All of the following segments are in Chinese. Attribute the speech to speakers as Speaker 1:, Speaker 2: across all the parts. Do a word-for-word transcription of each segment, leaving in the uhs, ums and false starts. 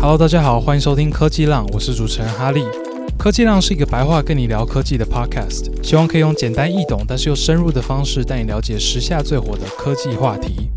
Speaker 1: Hello， 大家好，歡迎收聽科技浪，我是主持人哈利。科技浪是一個白話跟你聊科技的 podcast， 希望可以用簡單易懂但是又深入的方式帶你了解時下最火的科技話題。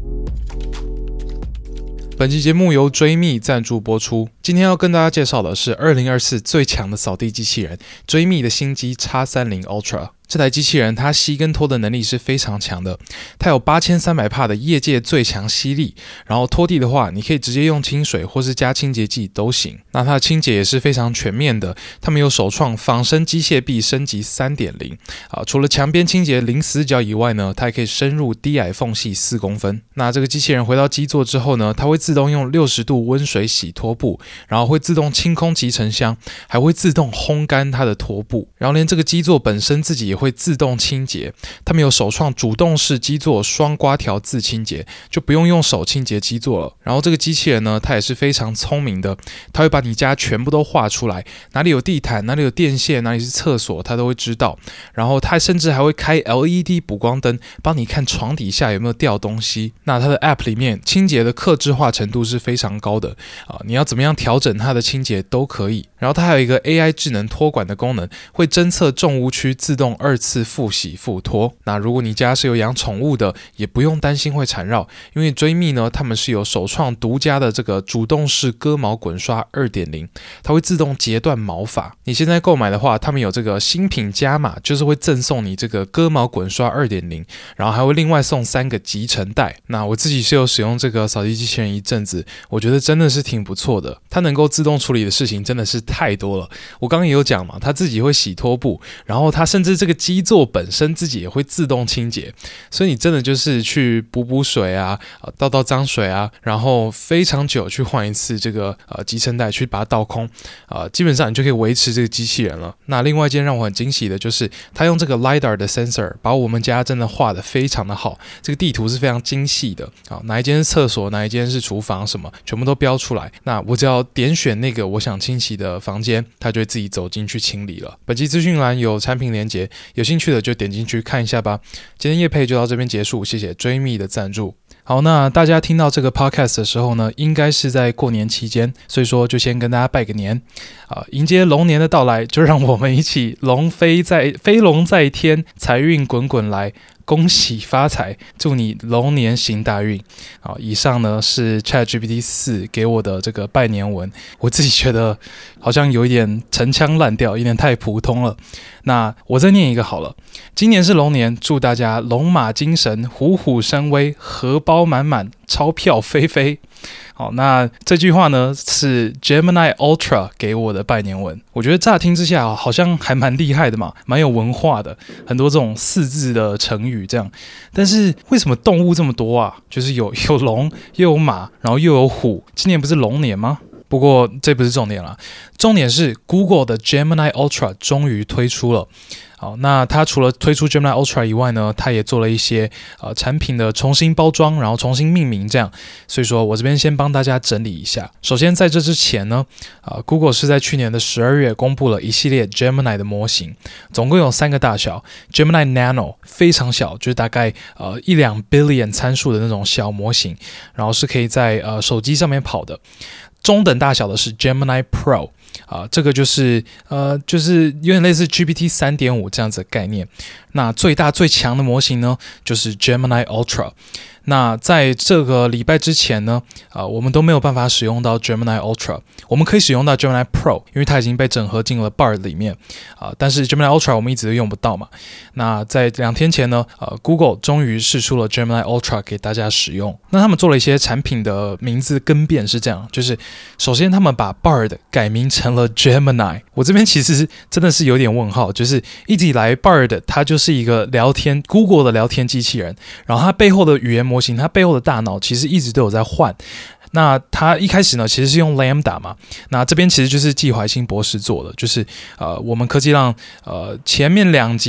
Speaker 1: 本期節目由追觅贊助播出。今天要跟大家介紹的是二零二四最強的掃地機器人——追觅的新機 X 三十 Ultra。這台機器人它吸跟拖的能力是非常強的，它有八千三百帕的業界最強吸力，然後拖地的話，你可以直接用清水或是加清潔劑都行。那它的清潔也是非常全面的，他們有首創仿生機械臂升級 三點零 啊，除了牆邊清潔零死角以外呢，它還可以深入低矮縫隙四公分。那這個機器人回到機座之後呢，它會自動用六十度溫水洗拖布，然後會自動清空集塵箱，還會自動烘乾它的拖布，然後連這個機座本身自己也會自動清潔。他們有首創主動式機座雙刮條自清潔，就不用用手清潔機座了。然後這個機器人呢，它也是非常聰明的，它會把你家全部都畫出來，哪裡有地毯，哪裡有電線，哪裡是廁所，它都會知道。然後它甚至還會開 L E D 補光燈，幫你看床底下有沒有掉東西。那它的 App 裡面清潔的客製化程度是非常高的啊，你要怎麼樣調整它的清潔都可以。然後它還有一個 A I 智能拖管的功能，會偵測重污區，自動二次複洗複拖。那如果你家是有養寵物的，也不用擔心會纏繞，因為追觅呢，他們是有首創獨家的這個主動式割毛滾刷 二點零， 它會自動截斷毛髮。你現在購買的話，他們有這個新品加碼，就是會贈送你這個割毛滾刷 二點零， 然後還會另外送三個集塵袋。那我自己是有使用這個掃地機器人一陣子，我覺得真的是挺不錯的。它能夠自動處理的事情真的是太多了。我剛剛也有講嘛，它自己會洗拖布，然後它甚至這個機座本身自己也會自動清潔，所以你真的就是去補補水啊，倒倒髒水啊，然後非常久去換一次這個呃集塵袋，去把它倒空，呃，基本上你就可以維持這個機器人了。那另外一件讓我很驚喜的就是，它用這個 LiDAR 的 sensor 把我們家真的畫得非常的好，這個地圖是非常精細的啊，哪一間是廁所，哪一間是廚房，什麼全部都標出來。那我只要點選那個我想清洗的房間，它就會自己走進去清理了。本期資訊欄有產品連結，有興趣的就點進去看一下吧。今天業配就到這邊結束，謝謝追觅的贊助。好，那大家聽到這個 podcast 的時候呢，應該是在過年期間，所以說就先跟大家拜個年啊，迎接龍年的到來，就讓我們一起龍飛在飛龍在天，財運滾滾來。恭喜發財，祝你龍年行大運。好，以上呢是 ChatGPT 四 給我的這個拜年文，我自己覺得好像有一點陳腔濫調，有點太普通了。那我再念一個好了。今年是龍年，祝大家龍馬精神，虎虎生威，荷包滿滿，鈔票飛飛。好，那這句話呢是 Gemini Ultra 給我的拜年文。我覺得乍聽之下好像還蠻厲害的嘛，蠻有文化的，很多這種四字的成語這樣。但是為什麼動物這麼多啊？就是有有龍，又有馬，然後又有虎。今年不是龍年嗎？不過這不是重點啦，重點是 Google 的 Gemini Ultra 終於推出了。好，那它除了推出 Gemini Ultra 以外呢，它也做了一些呃產品的重新包裝，然後重新命名這樣。所以說我這邊先幫大家整理一下。首先在這之前呢，呃 Google 是在去年的十二月公布了一系列 Gemini 的模型，總共有三個大小 ：Gemini Nano 非常小，就是大概呃一兩 billion 參數的那種小模型，然後是可以在呃手機上面跑的。中等大小的是 Gemini Pro 啊、呃，這個就是呃，就是有點類似 G P T 三點五 這樣子的概念。那最大最強的模型呢，就是 Gemini Ultra。那在這個禮拜之前呢，呃，我們都沒有辦法使用到 Gemini Ultra， 我們可以使用到 Gemini Pro， 因為它已經被整合進了 Bard 裡面啊、呃。但是 Gemini Ultra 我們一直都用不到嘛。那在兩天前呢，呃 ，Google 終於釋出了 Gemini Ultra 給大家使用。那他們做了一些產品的名字更變是這樣，就是首先他們把 Bard 改名成了 Gemini。我這邊其實真的是有點問號，就是一直以來 Bard 它就是一個聊天 Google 的聊天機器人，然後它背後的語言模型，它背後的大腦其實一直都有在換。那它一開始呢，其實是用 Lambda 嘛。那這邊其實就是季懷新博士做的，就是呃，我們科技浪呃前面兩集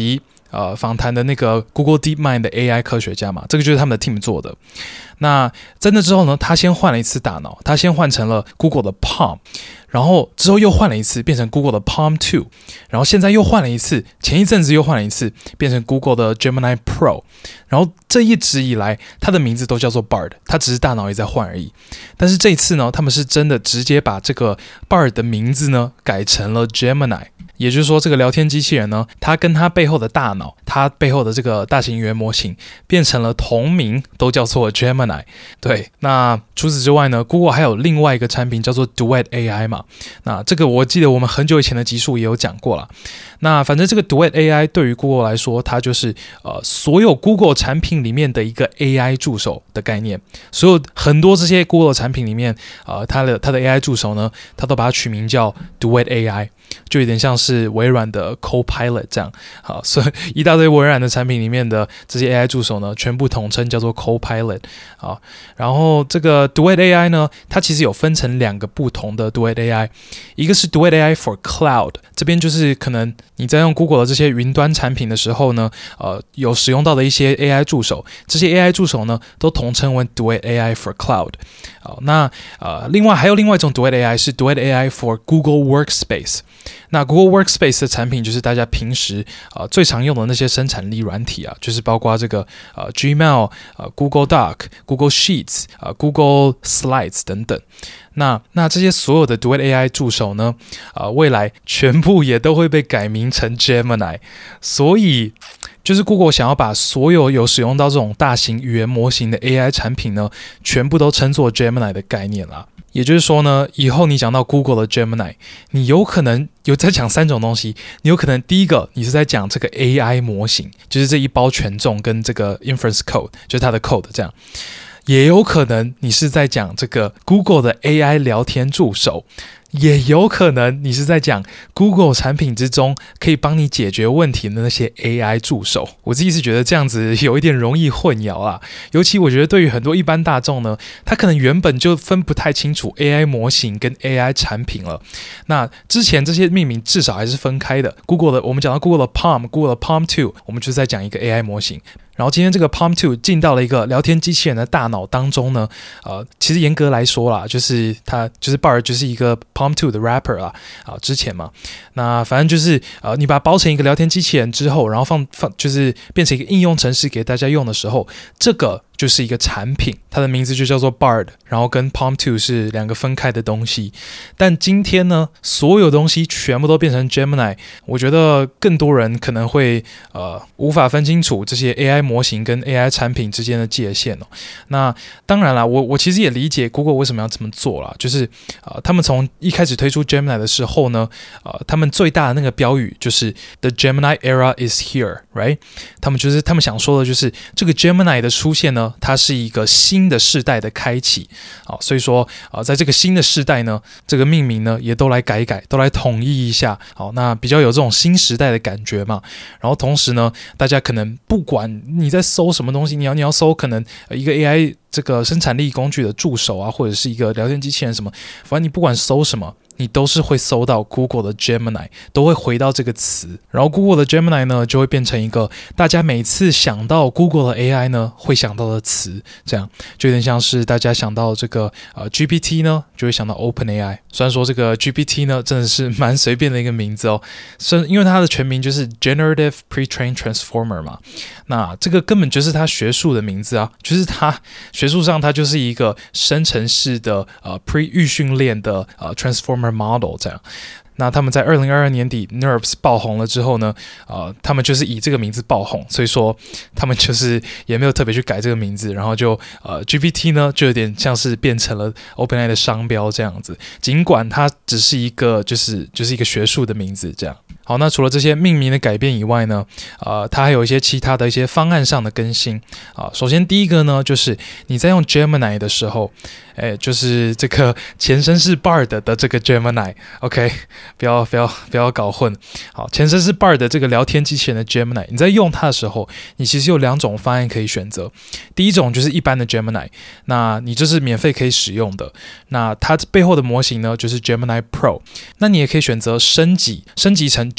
Speaker 1: 呃訪談的那個 Google DeepMind 的 A I 科學家嘛，這個就是他們的 team 做的。那在那之後呢，他先換了一次大腦，他先換成了 Google 的 Palm， 然後之後又換了一次，變成 Google 的 Palm 二， 然後現在又換了一次，前一陣子又換了一次，變成 Google 的 Gemini Pro， 然後這一直以來，他的名字都叫做 Bard， 他只是大腦也在換而已。但是這一次呢，他們是真的直接把這個 Bard 的名字呢改成了 Gemini。也就是說，這個聊天機器人呢，它跟它背後的大腦，它背後的這個大型語言模型，變成了同名，都叫做 Gemini。對，那除此之外呢 ，Google 還有另外一個產品叫做 Duet A I 嘛。那這個我記得我們很久以前的集數也有講過啦。那反正這個 Duet A I 對於 Google 來說，它就是呃所有 Google 產品裡面的一個 A I 助手的概念。所有很多這些 Google 產品裡面，呃，它的它的 A I 助手呢，它都把它取名叫 Duet A I， 就有點像是是微軟的 Copilot 這樣，好，所以一大堆微軟的產品裡面的這些 A I 助手呢，全部統稱叫做 Copilot。好，然後這個 Duet A I 呢，它其實有分成兩個不同的 Duet A I， 一個是 Duet A I for Cloud， 這邊就是可能你在用 Google 的這些雲端產品的時候呢，呃，有使用到的一些 A I 助手，這些 A I 助手呢，都統稱為 Duet A I for Cloud。好，那呃，另外還有另外一種 Duet A I 是 Duet A I for Google Workspace。那 Google Workspace 的產品就是大家平時呃最常用的那些生產力軟體啊，就是包括這個呃 Gmail、呃 Google Doc、Google Sheets、呃 Google Slides 等等。那那這些所有的 Duet A I 助手呢，呃未來全部也都會被改名成 Gemini。所以就是 Google 想要把所有有使用到這種大型語言模型的 A I 產品呢，全部都稱作 Gemini 的概念啦。也就是說呢，以後你講到 Google 的 Gemini， 你有可能有在講三種東西。你有可能第一個，你是在講這個 A I 模型，就是這一包權重跟這個 inference code，就是它的 code 這樣。也有可能你是在講這個 Google 的 A I 聊天助手。也有可能你是在講 Google 產品之中可以幫你解決問題的那些 A I 助手。我自己是覺得這樣子有一點容易混淆啦，尤其我覺得對於很多一般大眾呢，他可能原本就分不太清楚 A I 模型跟 A I 產品了。那之前這些命名至少還是分開的。Google 的，我們講到 Google 的 Palm、Google 的 Palm 二，我們就是在講一個 A I 模型。然後今天這個 Palm 二進到了一個聊天機器人的大腦當中呢，呃，其實嚴格來說啦，就是它就是 Bard 就是一個 Palm 二的 wrapper 啦，啊、呃，之前嘛，那反正就是呃，你把它包成一個聊天機器人之後，然後放放就是變成一個應用程式給大家用的時候，這個就是一個產品，它的名字就叫做 Bard， 然後跟 Palm 二是兩個分開的東西。但今天呢，所有東西全部都變成 Gemini， 我覺得更多人可能會呃無法分清楚這些 A I 模型跟 A I 產品之間的界限哦。那當然啦，我我其實也理解 Google 為什麼要這麼做啦，就是呃他們從一開始推出 Gemini 的時候呢，呃他們最大的那個標語就是 The Gemini era is here，right？ 他們就是他們想說的就是這個 Gemini 的出現呢，它是一個新的世代的開啟，好，所以說啊、呃，在這個新的世代呢，這個命名呢也都來改一改，都來統一一下，好，那比較有這種新時代的感覺嘛。然後同時呢，大家可能不管你在搜什麼東西，你要你要搜可能一個 A I 這個生產力工具的助手啊，或者是一個聊天機器人什麼，反正你不管搜什麼，你都是會搜到 Google 的 Gemini， 都會回到這個詞，然後 Google 的 Gemini 呢就會變成一個大家每次想到 Google 的 A I 呢會想到的詞，這樣就有點像是大家想到這個呃 G P T 呢就會想到 OpenAI。雖然說這個 G P T 呢真的是蠻隨便的一個名字哦，是因為它的全名就是 Generative Pre-trained Transformer 嘛，那這個根本就是它學術的名字啊，就是它學術上它就是一個生成式的呃 pre 預訓練的呃 Transformer model 這樣。那他們在二零二二年底 Nerves 爆紅了之後呢，呃，他們就是以這個名字爆紅，所以說他們就是也沒有特別去改這個名字，然後就呃 G P T 呢就有點像是變成了 OpenAI 的商標這樣子，儘管它只是一個就是就是一個學術的名字這樣。好，那除了這些命名的改變以外呢，呃，它還有一些其他的一些方案上的更新啊、呃。首先第一個呢，就是你在用 Gemini 的時候，哎，就是這個前身是 Bard 的這個 Gemini，OK，、okay? 不要不要不要搞混。好，前身是 Bard 的這個聊天機器人的 Gemini， 你在用它的時候，你其實有兩種方案可以選擇。第一種就是一般的 Gemini， 那你這是免費可以使用的。那它背後的模型呢，就是 Gemini Pro， 那你也可以選擇升級，升級成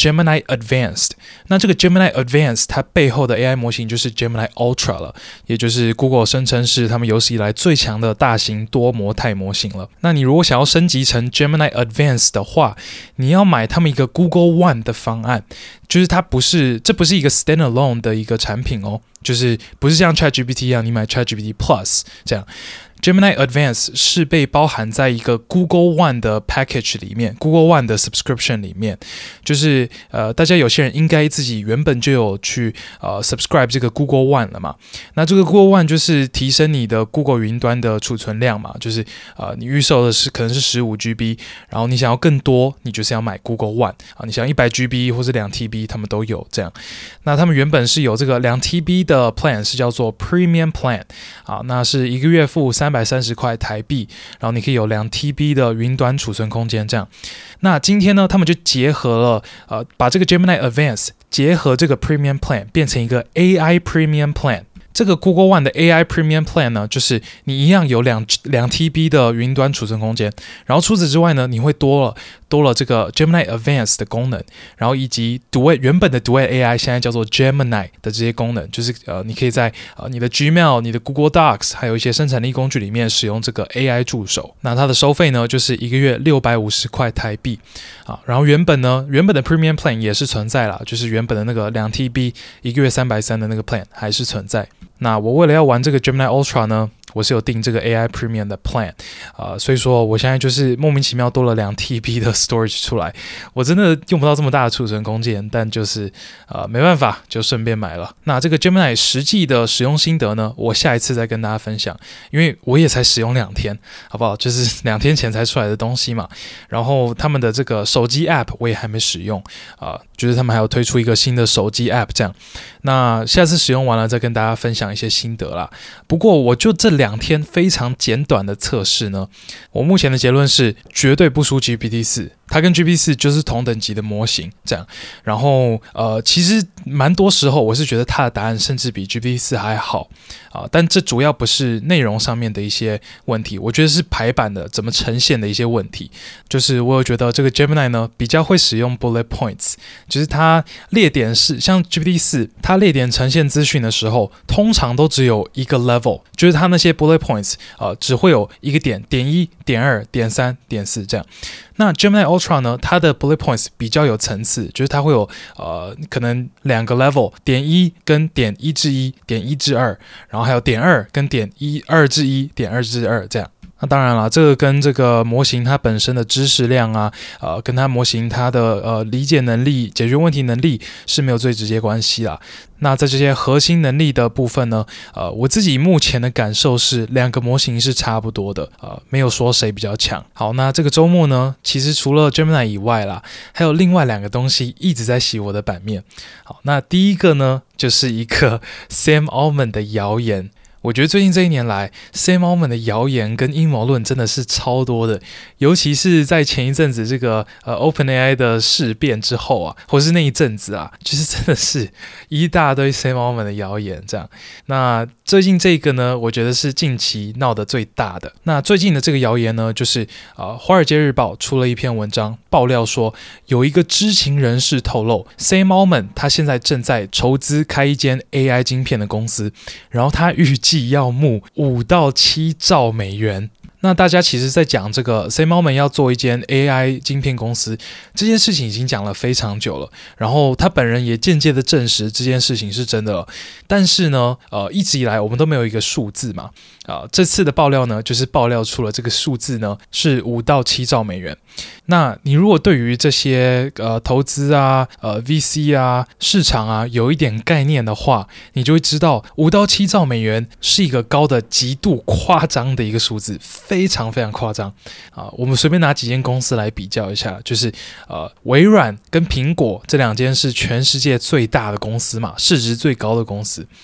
Speaker 1: Gemini Advanced。那這個 Gemini Advanced 它背後的 A I 模型就是 Gemini Ultra 了，也就是 Google 聲稱是他們有史以來最強的大型多模態模型了。那你如果想要升級成 Gemini Advanced 的話，你要買他們一個 Google One 的方案，就是它不是，這不是一個 standalone 的一個產品哦，就是不是像 ChatGPT 一樣，你買 ChatGPT Plus 這樣。Gemini Advanced 是被包含在一個 Google One 的 package 裡面 ，Google One 的 subscription 裡面，就是呃，大家有些人應該自己原本就有去呃 subscribe 這個 Google One 了嘛。那這個 Google One 就是提升你的 Google 雲端的儲存量嘛，就是呃，你預售的是可能是十五 G B， 然後你想要更多，你就是要買 Google One 啊，你想要一百 G B 或是兩 T B， 他們都有這樣。那他們原本是有這個兩 T B 的 plan 是叫做 Premium Plan 啊，那是一個月付三百三十塊台幣，然後你可以有兩 T B 的雲端儲存空間這樣。那今天呢，他們就結合了呃，把這個 Gemini Advanced 結合這個 Premium Plan 變成一個 A I Premium Plan。這個 Google One 的 A I Premium Plan 呢，就是你一樣有兩兩 T B 的雲端儲存空間，然後除此之外呢，你會多了多了這個 Gemini Advanced 的功能，然後以及 Duet 原本的 Duet A I 現在叫做 Gemini 的這些功能，就是呃，你可以在呃你的 Gmail、你的 Google Docs 還有一些生產力工具裡面使用這個 A I 助手。那它的收費呢，就是一個月六百五十塊台幣啊。然後原本呢，原本的 Premium Plan 也是存在啦，就是原本的那個兩 T B 一個月三百三的那個 Plan 還是存在。那我為了要玩這個 Gemini Ultra 呢，我是有訂這個 A I Premium 的 Plan， 啊、呃，所以說我現在就是莫名其妙多了兩 T B 的 storage 出來，我真的用不到這麼大的儲存空間，但就是呃沒辦法，就順便買了。那這個 Gemini 實際的使用心得呢，我下一次再跟大家分享，因為我也才使用兩天，好不好？就是兩天前才出來的東西嘛。然後他們的這個手機 App 我也還沒使用啊、呃，就是他們還有推出一個新的手機 App 這樣。那下次使用完了再跟大家分享一些心得啦。不過我就這兩天非常簡短的測試呢，我目前的結論是絕對不輸 G P T 四，它跟 G P T 四就是同等級的模型這樣。然後呃，其實蠻多時候我是覺得它的答案甚至比 G P T 四還好啊、呃，但這主要不是內容上面的一些問題，我覺得是排版的怎麼呈現的一些問題。就是我有覺得這個 Gemini 呢比較會使用 bullet points，就是它列點是像 G P T 四，它列點呈現資訊的時候，通常都只有一個 level， 就是它那些 bullet points， 呃，只會有一個點，點一、點二、點三、點四這樣。那 Gemini Ultra 呢，它的 bullet points 比較有層次，就是它會有呃可能兩個 level， 點一跟點一至一、點一至二，然後還有點二跟點一二至一、點二至二這樣。那當然了，這個跟這個模型它本身的知識量啊，呃，跟它模型它的呃理解能力、解決問題能力是沒有最直接關係啦。那在這些核心能力的部分呢，呃，我自己目前的感受是兩個模型是差不多的，呃，沒有說誰比較強。好，那這個週末呢，其實除了 Gemini 以外啦，還有另外兩個東西一直在洗我的版面。好，那第一個呢，就是一個 Sam Altman 的謠言。我覺得最近這一年來 Sam Altman 的謠言跟陰謀論真的是超多的，尤其是在前一陣子這個呃 OpenAI 的事變之後啊，或是那一陣子啊，就是真的是一大堆 Sam Altman 的謠言這樣。那最近這個呢，我覺得是近期鬧得最大的。那最近的這個謠言呢，就是呃《華爾街日報》出了一篇文章，爆料說有一個知情人士透露 ，Sam Altman 他現在正在籌資開一間 A I 晶片的公司，然後他預計要募五到七兆美元。那大家其實在講這個 Sam Altman 要做一間 A I 晶片公司這件事情已經講了非常久了，然後他本人也間接的證實這件事情是真的了。但是呢，呃，一直以來我們都沒有一個數字嘛，啊、呃，這次的爆料呢，就是爆料出了這個數字呢是五到七兆美元。那你如果對於這些呃投資啊、呃 V C 啊、市場啊有一點概念的話，你就會知道五到七兆美元是一個高的極度誇張的一個數字。非常非常誇張啊！我們隨便拿幾間公司來比較一下，就是呃，微軟跟蘋果這兩間是全世界最大的公司嘛，市值最高的公司。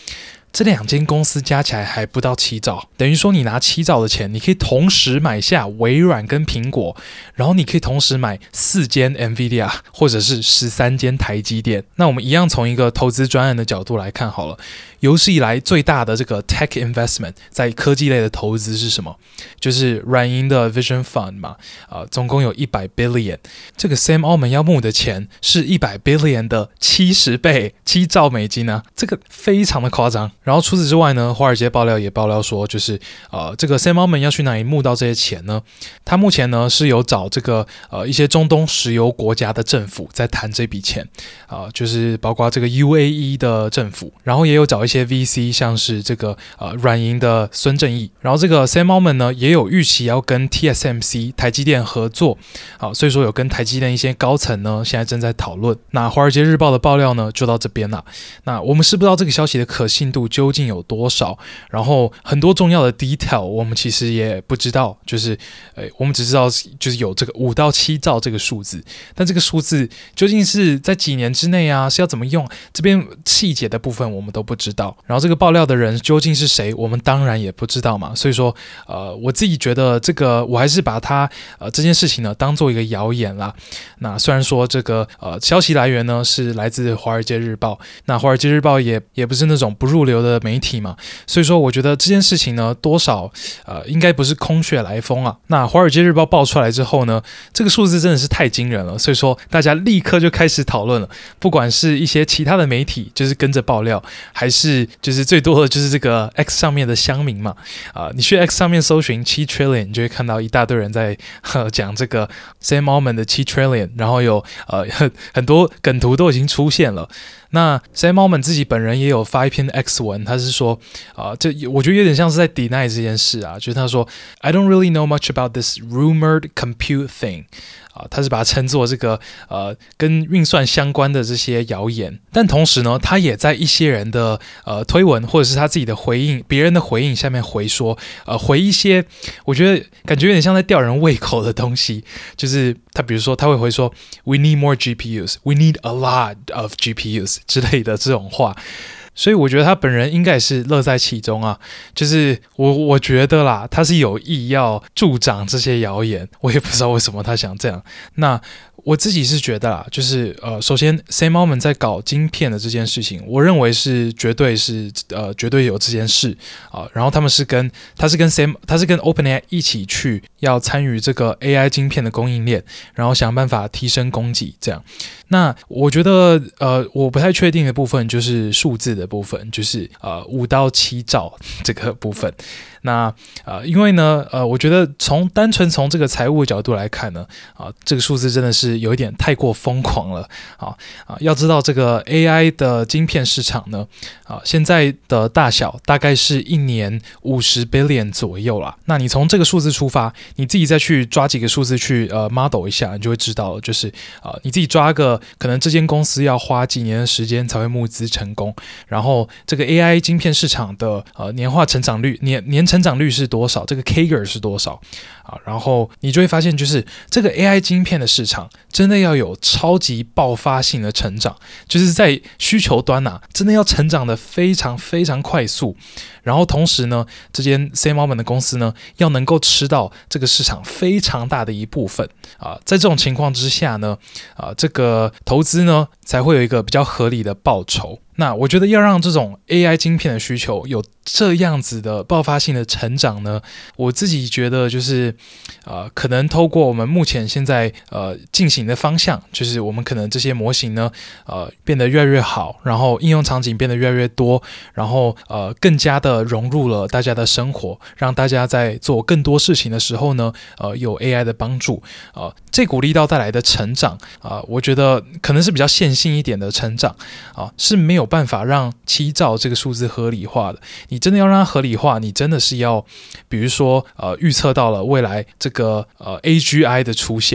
Speaker 1: 這兩間公司加起來還不到七兆，等於說你拿七兆的錢，你可以同時買下微軟跟蘋果，然後你可以同時買四間 NVIDIA 或者是十三間台積電。那我們一樣從一個投資專案的角度來看好了，有史以來最大的這個 tech investment 在科技類的投資是什麼？就是軟銀的 Vision Fund 嘛，呃，總共有一百 billion。這個 Sam Altman 要募的錢是一百 billion 的七十倍，七兆美金啊，這個非常的誇張。然後除此之外呢，華爾街爆料也爆料說，就是呃，這個 Sam Altman 要去哪裡募到這些錢呢？他目前呢是有找這個呃一些中東石油國家的政府在談這筆錢啊、呃，就是包括這個 U A E 的政府，然後也有找一些 V C， 像是這個呃軟銀的孫正義，然後這個 Sam Altman 呢也有預期要跟 T S M C 台積電合作，好、呃，所以說有跟台積電一些高層呢現在正在討論。那華爾街日報的爆料呢就到這邊了。那我們是不知道這個消息的可信度究竟有多少，然後很多重要的 detail 我們其實也不知道，就是呃我們只知道就是有這個五到七兆這個數字，但這個數字究竟是在幾年之內啊，是要怎麼用，這邊細節的部分我們都不知道。然後這個爆料的人究竟是誰，我們當然也不知道嘛。所以說呃我自己覺得這個我還是把它呃這件事情呢當做一個謠言啦。那雖然說這個呃消息來源呢是來自華爾街日報，那華爾街日報也也不是那種不入流的媒體嘛，所以說我覺得這件事情呢多少呃應該不是空穴來風啊。那華爾街日報爆出來之後呢，這個數字真的是太驚人了，所以說大家立刻就開始討論了，不管是一些其他的媒體就是跟着爆料，還是就是最多的就是這個 X 上面的鄉民嘛，啊、呃，你去 X 上面搜尋七 trillion， 你就會看到一大堆人在呵講這個 Sam Altman 的七 trillion， 然後有呃很很多梗圖都已經出現了。那 Sam Altman 自己本人也有發一篇 X 文，他是說啊、呃，這我覺得有點像是在 deny 這件事啊，就是他說 I don't really know much about this rumored compute thing。啊，他是把它稱作這個呃跟運算相關的這些謠言，但同時呢，他也在一些人的呃推文或者是他自己的回應，別人的回應下面回說，呃回一些我覺得感覺有點像在吊人胃口的東西，就是他比如說他會回說 We need more G P Us, we need a lot of G P Us 之類的這種話。所以我覺得他本人應該也是樂在其中啊，就是我我覺得啦，他是有意要助長這些謠言，我也不知道為什麼他想這樣。那我自己是覺得啦，就是呃，首先 Sam Altman 在搞晶片的這件事情，我認為是絕對是呃絕對有這件事啊、呃。然後他們是跟他是跟 Sam 他是跟 OpenAI 一起去要參與這個 A I 晶片的供應鏈，然後想辦法提升供給這樣。那我覺得呃我不太確定的部分就是數字的部分，就是呃五到七兆這個部分。那呃，因為呢，呃，我覺得從單純從這個財務的角度來看呢，啊、呃，這個數字真的是有一點太過瘋狂了啊啊！要知道這個 A I 的晶片市場呢，啊，現在的大小大概是一年五十 billion 左右啦。那你從這個數字出發，你自己再去抓幾個數字去呃 model 一下，你就會知道了，就是啊、呃，你自己抓個可能這間公司要花幾年的時間才會募資成功，然後這個 A I 晶片市場的呃年化成長率年年成長率是多少？這個 K G R 是多少啊？然後你就會發現，就是這個 A I 晶片的市場真的要有超級爆發性的成長，就是在需求端啊，真的要成長的非常非常快速。然後同時呢，這間 Sam Altman 的公司呢，要能夠吃到這個市場非常大的一部分啊。在這種情況之下呢，啊，這個投資呢才會有一個比較合理的報酬。那我覺得要讓這種 A I 晶片的需求有這樣子的爆發性的成長呢，我自己覺得就是呃，可能透過我們目前現在呃進行的方向，就是我們可能這些模型呢呃變得越來越好，然後應用場景變得越來越多，然後呃更加的融入了大家的生活，讓大家在做更多事情的時候呢呃有 A I 的幫助，呃這股力道帶來的成長啊、呃，我覺得可能是比較線性一點的成長啊、呃，是沒有辦法讓七兆這個數字合理化的。你真的要讓它合理化，你真的是要比如說呃預測到了未來這個呃 A G I 的出現，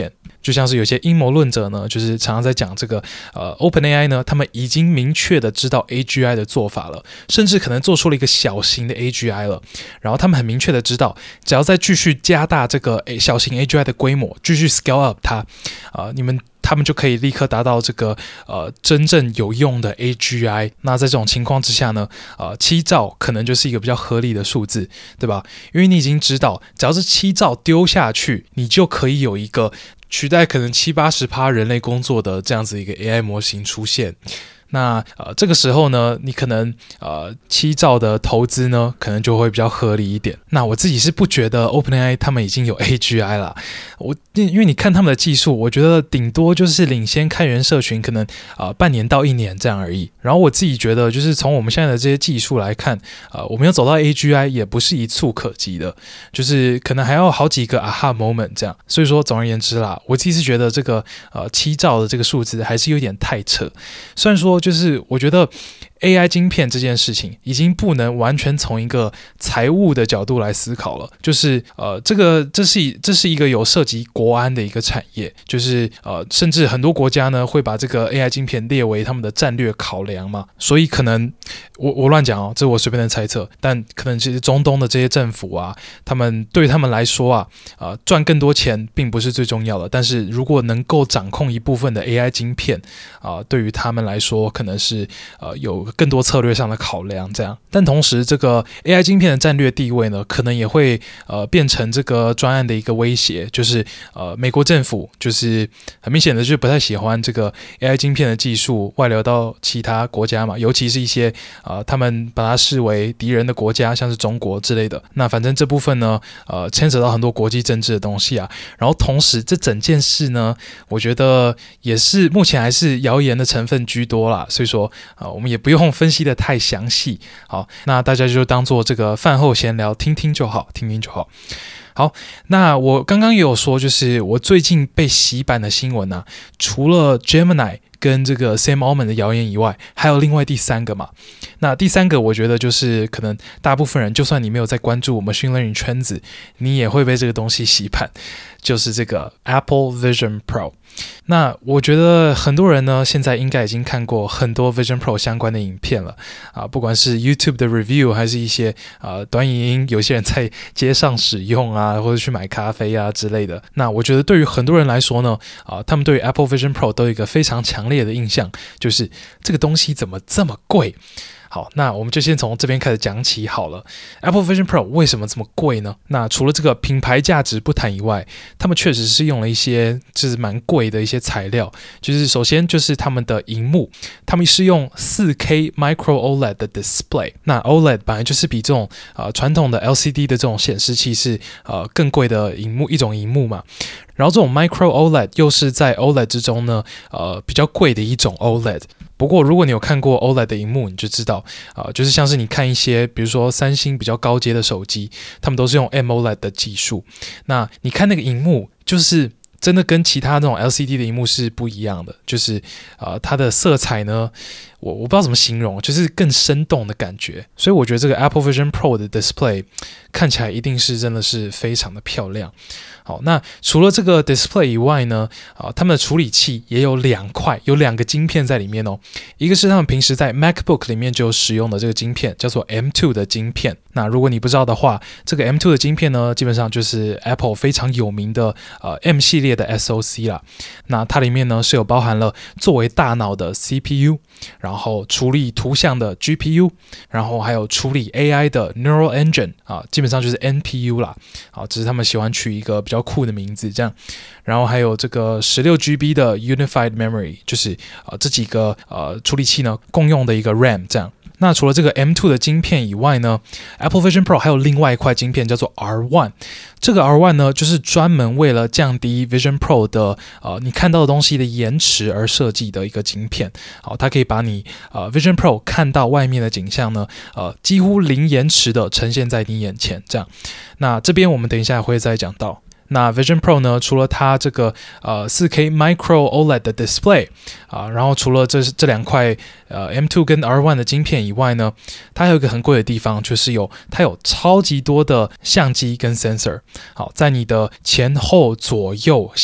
Speaker 1: 就像是有些陰謀論者呢，就是常常在講這個呃 OpenAI 呢，他們已經明確的知道 A G I 的做法了，甚至可能做出了一個小型的 A G I 了。然後他們很明確的知道，只要再繼續加大這個小型 A G I 的規模，繼續 scale up 它，啊、呃，你們。他們就可以立刻達到這個呃真正有用的 A G I。那在這種情況之下呢，呃七兆可能就是一個比較合理的數字，對吧？因為你已經知道，只要是七兆丟下去，你就可以有一個取代可能七八十趴人類工作的這樣子一個 A I 模型出現。那呃這個時候呢，你可能呃七兆的投資呢，可能就會比較合理一點。那我自己是不覺得 OpenAI 他們已經有 A G I 啦，我因為你看他們的技術，我覺得頂多就是領先開源社群可能呃半年到一年這樣而已。然後我自己覺得，就是從我們現在的這些技術來看，呃我們要走到 A G I 也不是一蹴可及的，就是可能還要好幾個 aha moment 這樣。所以說總而言之啦，我自己是覺得這個呃七兆的這個數字還是有點太扯。雖然說就是我覺得 A I 晶片這件事情已經不能完全從一個財務的角度來思考了，就是呃，這個這是這是一個有涉及國安的一個產業，就是呃，甚至很多國家呢會把這個 A I 晶片列為他們的戰略考量嘛，所以可能我我亂講哦，這是我隨便的猜測，但可能其實中東的這些政府啊，他們對他們來說啊，呃，賺更多錢並不是最重要的，但是如果能夠掌控一部分的 A I 晶片啊、呃，對於他們來說可能是呃有更多策略上的考量，這樣。但同時，這個 A I 晶片的戰略地位呢，可能也會呃變成這個專案的一個威脅，就是呃美國政府就是很明顯的就不太喜歡這個 A I 晶片的技術外流到其他國家嘛，尤其是一些呃他們把它視為敵人的國家，像是中國之類的。那反正這部分呢，呃牽扯到很多國際政治的東西啊。然後同時，這整件事呢，我覺得也是目前還是謠言的成分居多啦，所以說啊、呃，我們也不用分析的太詳細，好，那大家就當做這個飯後閒聊，聽聽就好，聽聽就好。好，那我剛剛也有說，就是我最近被洗版的新聞啊，除了 Gemini 跟這個 Sam Altman 的謠言以外，還有另外第三個嘛。那第三個，我覺得就是可能大部分人，就算你沒有在關注 Machine Learning 圈子，你也會被這個東西洗版，就是這個 Apple Vision Pro。那我覺得很多人呢，現在應該已經看過很多 Vision Pro 相關的影片了啊，不管是 YouTube 的 review， 還是一些啊短影音，有些人在街上使用啊，或者去買咖啡啊之類的。那我覺得對於很多人來說呢，啊，他們對於 Apple Vision Pro 都有一個非常強烈的印象，就是這個東西怎麼這麼貴？好，那我們就先從這邊開始講起好了。Apple Vision Pro 為什麼這麼貴呢？那除了這個品牌價值不談以外，他們確實是用了一些就是蠻貴的一些材料。就是首先就是他們的螢幕，他們是用 四 K Micro OLED 的 display。那 OLED 本來就是比這種呃傳統的 L C D 的這種顯示器是呃更貴的螢幕一種螢幕嘛。然後這種 Micro OLED 又是在 OLED 之中呢，呃比較貴的一種 OLED。不過，如果你有看過 OLED 的螢幕，你就知道，啊、呃，就是像是你看一些，比如說三星比較高階的手機，他們都是用 AMOLED 的技術。那你看那個螢幕，就是真的跟其他那種 L C D 的螢幕是不一樣的，就是啊、呃，它的色彩呢，我我不知道怎麼形容，就是更生動的感覺。所以我覺得這個 Apple Vision Pro 的 display 看起來一定是真的是非常的漂亮。好，那除了這個 display 以外呢，啊，他們的處理器也有兩塊，有兩個晶片在裡面哦。一個是他們平時在 MacBook 裡面就使用的這個晶片，叫做 M 二 的晶片。那如果你不知道的話，這個 M 二 的晶片呢，基本上就是 Apple 非常有名的呃 M 系列的 S O C 啦。那它裡面呢是有包含了作為大腦的 C P U， 然後處理圖像的 G P U， 然後還有處理 A I 的 Neural Engine 啊，基本上就是 N P U 啦。啊，只是他們喜歡取一個比較比較酷的名字，這樣，然後還有這個 十六 G B 的 Unified Memory， 就是啊、呃、這幾個呃處理器呢共用的一個 RAM， 這樣。那除了這個 M 二 的晶片以外呢， Apple Vision Pro 還有另外一塊晶片叫做 R 一， 這個 R 一 呢就是專門為了降低 Vision Pro 的呃你看到的東西的延遲而設計的一個晶片。好，它可以把你呃 Vision Pro 看到外面的景象呢呃幾乎零延遲的呈現在你眼前，這樣。那這邊我們等一下會再講到。那 Vision Pro 呢，除了它這個呃 四 K Micro OLED 的 display 啊、呃，然後除了這這兩塊呃 M 二 跟 R 一 的晶片以外呢，它還有一個很貴的地方，就是有它有超級多的相機跟 sensor。好，在你的前後左右下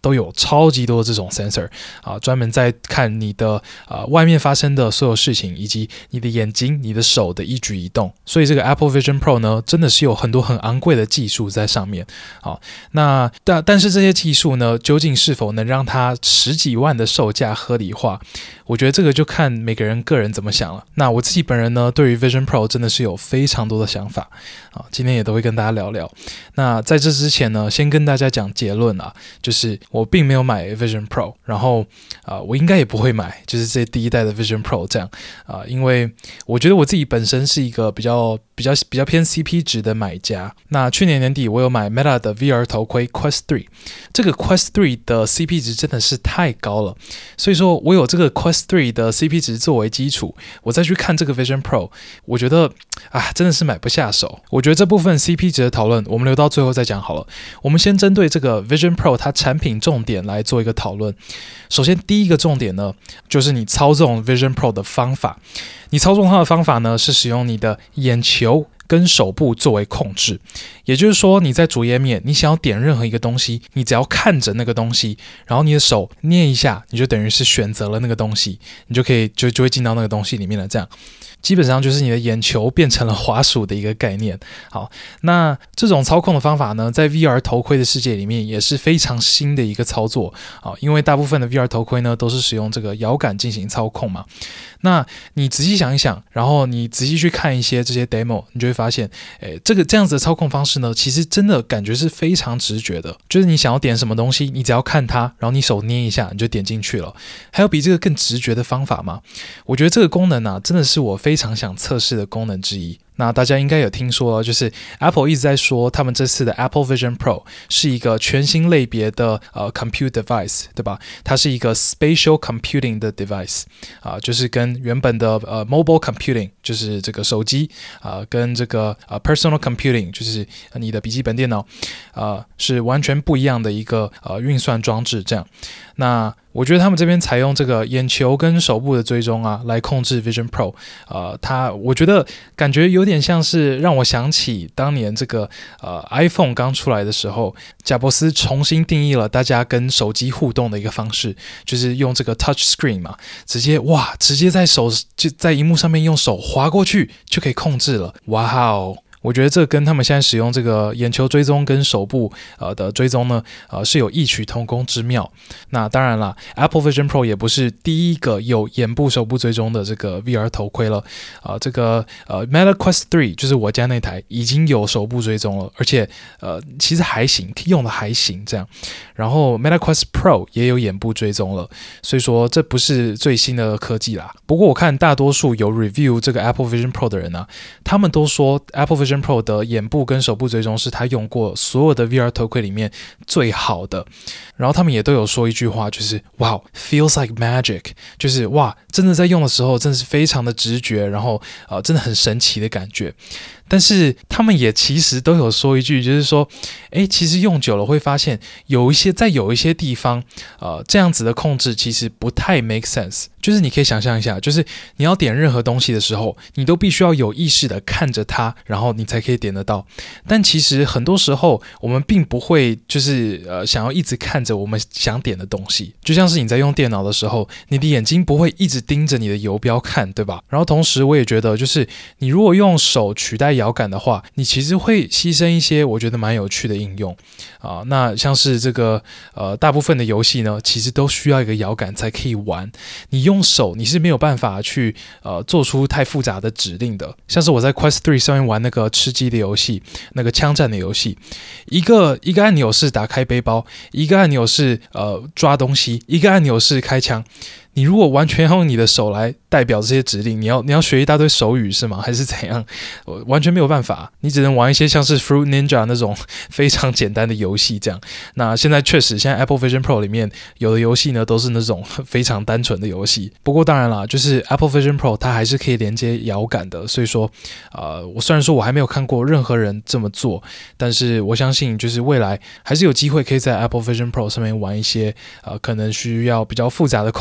Speaker 1: 都有超級多的這種 sensor 啊，專門在看你的呃外面發生的所有事情，以及你的眼睛、你的手的一舉一動。所以這個 Apple Vision Pro 呢，真的是有很多很昂貴的技術在上面。好，那但但是這些技術呢，究竟是否能讓它十幾萬的售價合理化？我覺得這個就看每個人個人怎麼想了。那我自己本人呢，對於 Vision Pro 真的是有非常多的想法啊，今天也都會跟大家聊聊。那在這之前呢，先跟大家講結論啊，就是我並沒有買 Vision Pro，然後啊、呃，我應該也不會買，就是這第一代的 Vision Pro 這樣啊、呃，因為我覺得我自己本身是一個比較比較比較偏 C P 值的買家。那去年年底我有買 Meta 的 V R 頭盔 Quest 三，這個 Quest 三的 C P 值真的是太高了，所以說我有這個 Quest 三的 C P 值作為基礎，我再去看這個 Vision Pro， 我覺得啊真的是買不下手。我覺得這部分 C P 值的討論我們留到最後再講好了。我們先針對這個 Vision Pro 它產品重點來做一個討論。首先第一個重點呢，就是你操縱 Vision Pro 的方法。你操縱它的方法呢，是使用你的眼球跟手部作為控制，也就是說你在主頁面，你想要點任何一個東西，你只要看着那個東西，然後你的手捏一下，你就等於是選擇了那個東西，你就可以就就會進到那個東西裡面了。這樣基本上就是你的眼球變成了滑鼠的一個概念。好，那這種操控的方法呢，在 V R 頭盔的世界裡面也是非常新的一個操作啊，因為大部分的 V R 頭盔呢都是使用這個搖桿進行操控嘛。那你仔細想一想，然後你仔細去看一些這些 demo， 你就會發現，誒，這個這樣子的操控方式呢，其實真的感覺是非常直覺的。就是你想要點什麼東西，你只要看它，然後你手捏一下，你就點進去了。還有比這個更直覺的方法嗎？我覺得這個功能啊，真的是我非常想測試的功能之一。那大家應該有聽說了，就是 Apple 一直在說他們這次的 Apple Vision Pro 是一個全新類別的呃 compute device， 對吧？它是一個 spatial computing 的 device 啊、呃，就是跟原本的呃 mobile computing 就是這個手機啊、呃，跟這個呃 personal computing 就是你的筆記本電腦啊、呃，是完全不一樣的一個呃運算裝置。這樣，那我覺得他們這邊採用這個眼球跟手部的追蹤啊，來控制 Vision Pro， 呃，它我覺得感覺有點像是讓我想起當年這個呃 iPhone 剛出來的時候，賈伯斯重新定義了大家跟手機互動的一個方式，就是用這個 Touch Screen 嘛，直接哇，直接在手就在熒幕上面用手滑過去就可以控制了，哇哦！我覺得這跟他們現在使用這個眼球追蹤跟手部呃的追蹤呢，呃是有異曲同工之妙。那當然啦 ，Apple Vision Pro 也不是第一個有眼部、手部追蹤的這個 V R 頭盔了。啊、呃，這個呃 Meta Quest 三就是我家那台已經有手部追蹤了，而且呃其實還行，用的還行這樣。然後 Meta Quest Pro 也有眼部追蹤了，所以說這不是最新的科技啦。不過我看大多數有 review 這個 Apple Vision Pro 的人啊，他們都說 Apple Vision Pro 的眼部跟手部追蹤是他用過所有的 V R 頭盔裡面最好的，然後他們也都有說一句話，就是哇 feels like magic， 就是哇真的在用的時候真的是非常的直覺，然後呃真的很神奇的感覺。但是他們也其實都有說一句，就是說，誒，其實用久了會發現有一些在有一些地方，呃，這樣子的控制其實不太 make sense。就是你可以想象一下，就是你要點任何東西的時候，你都必須要有意識的看着它，然後你才可以點得到。但其實很多時候我們並不會，就是呃想要一直看着我們想點的東西。就像是你在用電腦的時候，你的眼睛不會一直盯着你的游標看，對吧？然後同時我也覺得，就是你如果用手取代搖桿的話，你其實會犧牲一些我覺得蠻有趣的應用啊。那像是這個呃，大部分的遊戲呢，其實都需要一個搖桿才可以玩。你用手你是沒有辦法去呃做出太複雜的指令的。像是我在 Quest 三上面玩那個吃雞的遊戲，那個槍戰的遊戲，一個一個按鈕是打開背包，一個按鈕是呃抓東西，一個按鈕是開槍。你如果完全用你的手來代表這些指令，你要你要學一大堆手語是嗎？還是怎樣？我完全沒有辦法，你只能玩一些像是 Fruit Ninja 那種非常簡單的遊戲這樣。那現在確實，現在 Apple Vision Pro 裡面有的遊戲呢，都是那種非常單純的遊戲。不過當然啦，就是 Apple Vision Pro 它還是可以連接搖桿的，所以說，呃，我雖然說我還沒有看過任何人這麼做，但是我相信就是未來還是有機會可以在 Apple Vision Pro 上面玩一些呃可能需要比較複雜的控制的遊戲。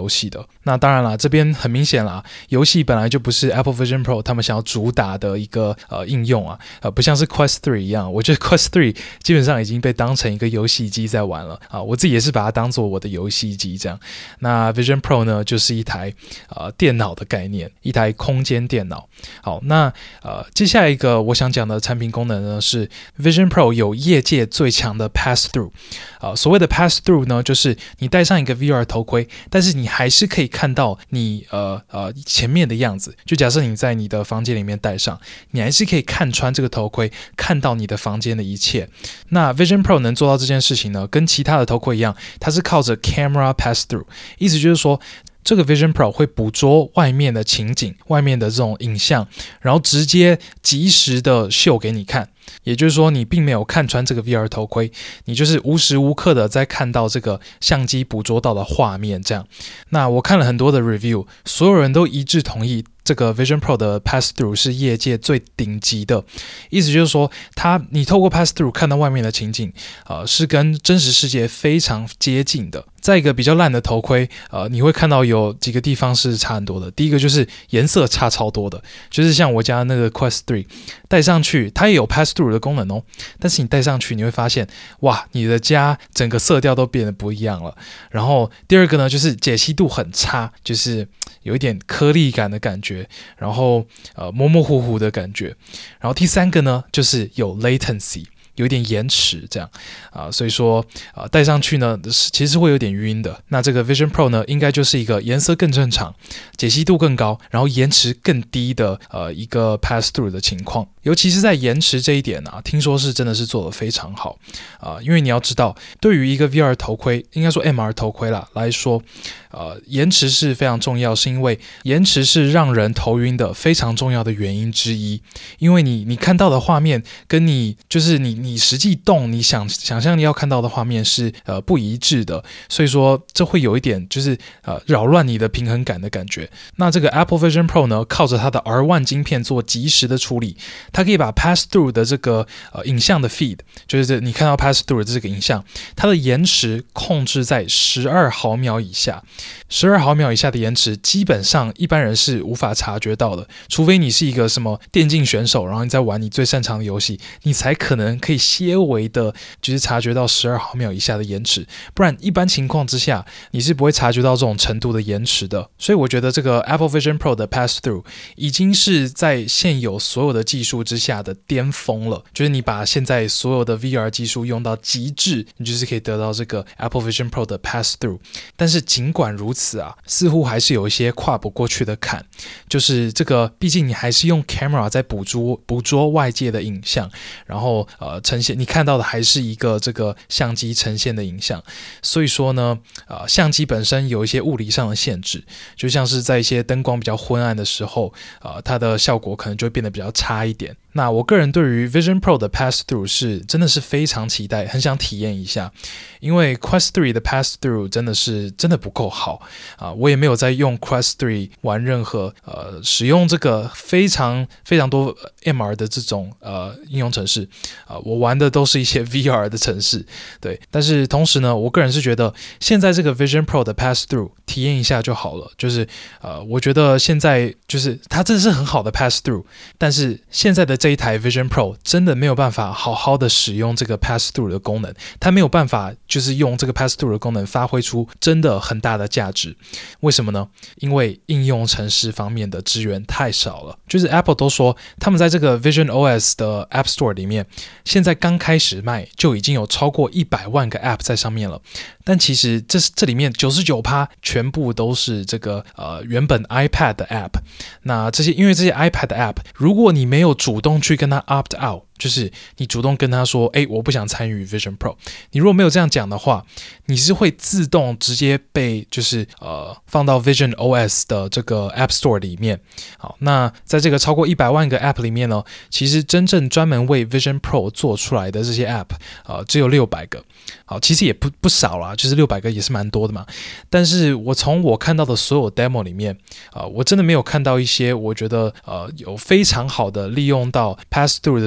Speaker 1: 遊戲的。那當然啦，這邊很明顯啦，遊戲本來就不是 Apple Vision Pro 他們想要主打的一個呃應用啊，呃不像是 Quest 三一樣，我覺得 Quest 三基本上已經被當成一個遊戲機在玩了啊，我自己也是把它當做我的遊戲機這樣。那 Vision Pro 呢，就是一台呃電腦的概念，一台空間電腦。好，那呃接下來一個我想講的產品功能呢是 Vision Pro 有業界最強的 Pass Through。呃所謂的 Pass Through 呢，就是你戴上一個 V R 頭盔，但是你還是可以看到你呃呃前面的樣子。就假設你在你的房間裡面戴上，你還是可以看穿這個頭盔，看到你的房間的一切。那 Vision Pro 能做到這件事情呢，跟其他的頭盔一樣，它是靠着 Camera Pass Through， 意思就是說，這個 Vision Pro 會捕捉外面的情景，外面的這種影像，然後直接即時的秀給你看。也就是說，你並沒有看穿這個 V R 頭盔，你就是無時無刻的在看到這個相機捕捉到的畫面。這樣，那我看了很多的 review， 所有人都一致同意，這個 Vision Pro 的 Pass Through 是業界最頂級的。意思就是說，它你透過 Pass Through 看到外面的情景，呃，是跟真實世界非常接近的。在一個比較爛的頭盔，呃，你會看到有幾個地方是差很多的。第一個就是顏色差超多的，就是像我家那個 Quest 三戴上去，它也有 Pass Through 的功能哦，但是你戴上去你會發現，哇，你的家整個色調都變得不一樣了。然後第二個呢，就是解析度很差，就是有一點顆粒感的感覺，然後呃模模糊糊的感覺。然後第三個呢，就是有 latency。有一點延遲這樣啊、呃，所以說啊、呃、戴上去呢其實是會有點暈的。那這個 Vision Pro 呢，應該就是一個顏色更正常、解析度更高，然後延遲更低的呃一個 pass through 的情況。尤其是在延遲這一點啊，聽說是真的是做得非常好啊、呃，因為你要知道，對於一個 V R 頭盔，應該說 M R 頭盔啦來說，呃，延遲是非常重要，是因為延遲是讓人頭暈的非常重要的原因之一。因為你你看到的畫面跟你就是你你實際動你想想象你要看到的畫面是呃不一致的，所以說這會有一點就是呃擾亂你的平衡感的感覺。那這個 Apple Vision Pro 呢，靠着它的 R 一 晶片做即時的處理，它可以把 Pass Through 的這個呃影像的 feed， 就是你看到 Pass Through 的這個影像，它的延遲控制在十二毫秒以下。十二毫秒以下的延遲，基本上一般人是無法察覺到的，除非你是一個什麼電競選手，然後你在玩你最擅長的遊戲，你才可能可以些微的，就是察覺到十二毫秒以下的延遲，不然一般情況之下，你是不會察覺到這種程度的延遲的。所以我覺得這個 Apple Vision Pro 的 Pass Through 已經是在現有所有的技術之下的巔峰了，就是你把現在所有的 V R 技術用到極致，你就是可以得到這個 Apple Vision Pro 的 Pass Through。但是儘管如此啊，似乎還是有一些跨不過去的坎，就是這個畢竟你還是用 camera 在捕捉捕捉外界的影像，然後呃呈現你看到的還是一個這個相機呈現的影像，所以說呢，呃相機本身有一些物理上的限制，就像是在一些燈光比較昏暗的時候，呃它的效果可能就會變得比較差一點。那我個人對於 Vision Pro 的 Pass Through 是真的是非常期待，很想體驗一下，因為 Quest 三的 Pass Through 真的是真的不夠好啊！我也沒有在用 Quest 三玩任何呃使用這個非常非常多 M R 的這種呃應用程式啊、呃，我玩的都是一些 V R 的程式，對。但是同時呢，我個人是覺得現在這個 Vision Pro 的 Pass Through 體驗一下就好了，就是呃，我覺得現在就是它真的是很好的 Pass Through，但是現在的這一台 Vision Pro 真的沒有辦法好好的使用這個 Pass Through 的功能，它沒有辦法就是用這個 Pass Through 的功能發揮出真的很大的價值。為什麼呢？因為應用程式方面的支援太少了。就是 Apple 都說他們在這個 Vision O S 的 App Store 裡面，現在剛開始賣就已經有超過一百萬個 App 在上面了。但其實這這裡面 百分之九十九 全部都是這個呃原本 iPad 的 App。那這些因為這些 iPad 的 App， 如果你沒有主動去跟他 opt out， 就是你主動跟他說，哎，我不想參與 Vision Pro。你如果沒有這樣講的話，你是會自動直接被就是呃放到 Vision O S 的這個 App Store 裡面。好，那在這個超過一百萬個 App 裡面呢，其實真正專門為 Vision Pro 做出來的這些 App， 呃，只有六百個。好，其實也不不少啦，就是六百個也是蠻多的嘛。但是我從我看到的所有 demo 裡面，呃，我真的沒有看到一些我覺得呃有非常好的利用到 pass through 的這種